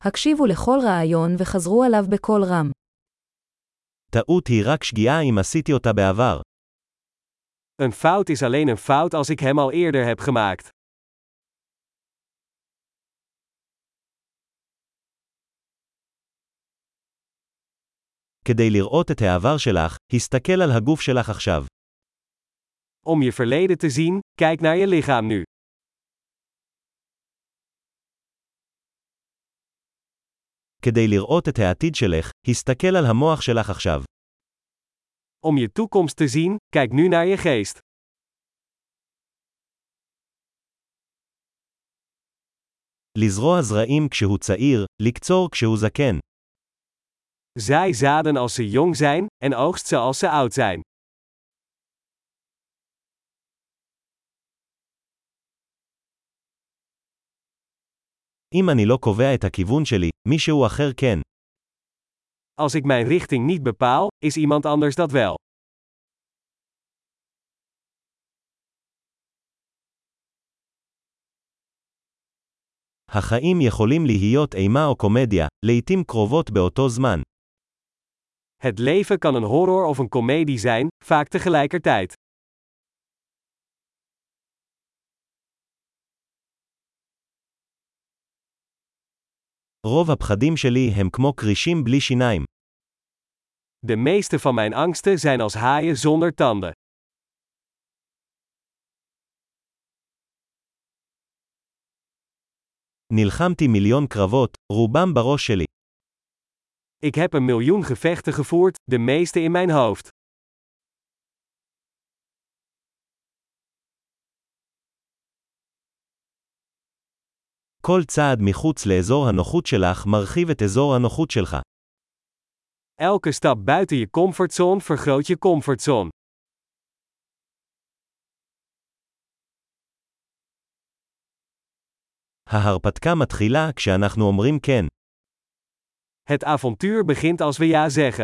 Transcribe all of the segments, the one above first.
הקשיבו לכל רעיון וחזרו עליו בקול רם. טעות היא רק שגיאה אם עשיתי אותה בעבר. Een fout is alleen een fout als ik hem al eerder heb gemaakt. כדי לראות את העבר שלך, הסתכל על הגוף שלך עכשיו. Om je verleden te zien, kijk naar je lichaam nu. כדי לראות את העתיד שלך, הסתכל על המוח שלך עכשיו. Om je toekomst te zien, kijk nu naar je geest. לזרוע זרעים כשהוא צעיר, לקצור כשהוא זקן. Zaai zaden als ze jong zijn, en oogst ze als ze oud zijn. אם אני לא קובע את הכיוון שלי, מישהו אחר כן. Als ik mijn richting niet bepaal, is iemand anders dat wel. החיים יכולים להיות אימה או קומדיה, לעתים קרובות באותו זמן. Het leven kan een horror of een komedie zijn, vaak tegelijkertijd. רוב הפחדים שלי הם כמו קרישים בלי שיניים. De meeste van mijn angsten zijn als haaien zonder tanden. נלחמתי מיליון קרבות, רובם בראש שלי. Ik heb 1.000.000 gevechten gevoerd, de meeste in mijn hoofd. כל צעד מחוץ לאזור הנוחות שלך מרחיב את אזור הנוחות שלך. Elke stap buiten je comfortzone vergroot je comfortzone. ההרפתקה מתחילה כשאנחנו אומרים כן. Het avontuur begint als we ja zeggen.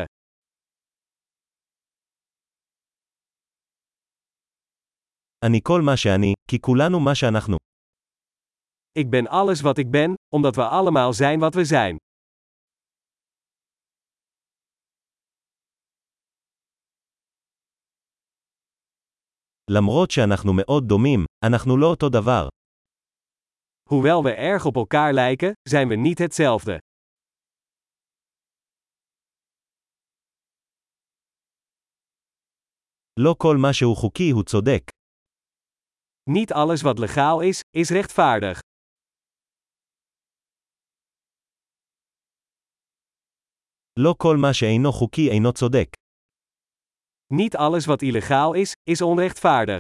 אני כל מה שאני, כי כולנו מה שאנחנו. Ik ben alles wat ik ben, omdat we allemaal zijn wat we zijn. למרות שאנחנו מאוד דומים, אנחנו לא אותו דבר. Hoewel we erg op elkaar lijken, zijn we niet hetzelfde. לא כל מה שהוא חוקי הוא צודק. Niet alles wat legaal is rechtvaardig. לא כל מה שאינו חוקי אינו צודק. Niet alles wat illegaal is onrechtvaardig.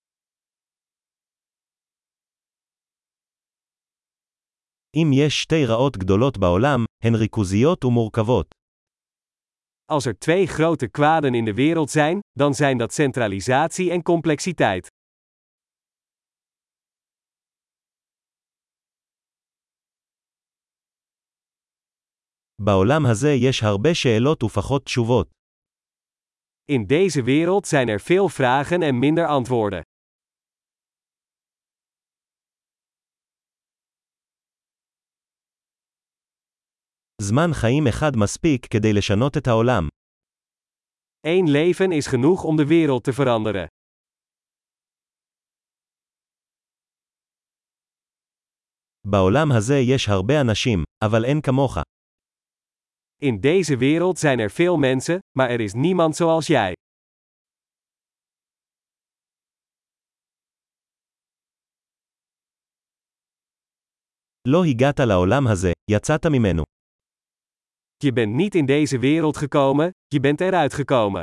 אם יש שתי רעות גדולות בעולם, הן ריכוזיות ומורכבות. Als er 2 grote kwaden in de wereld zijn, dan zijn dat centralisatie en complexiteit. בעולם הזה יש הרבה שאלות ופחות תשובות. In deze wereld zijn er veel vragen en minder antwoorden. זמן חיים אחד מספיק כדי לשנות את העולם. Eén leven is genoeg om de wereld te veranderen. בעולם הזה יש הרבה אנשים, אבל אין כמוך. In deze wereld zijn er veel mensen, maar er is niemand zoals jij. לא הגעת לעולם הזה, יצאת ממנו. Je bent niet in deze wereld gekomen, je bent eruit gekomen.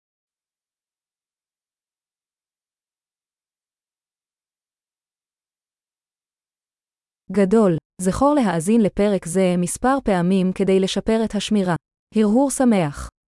גדול, זכור להאזין לפרק זה מספר פעמים כדי לשפר את השמירה. הרהור שמח.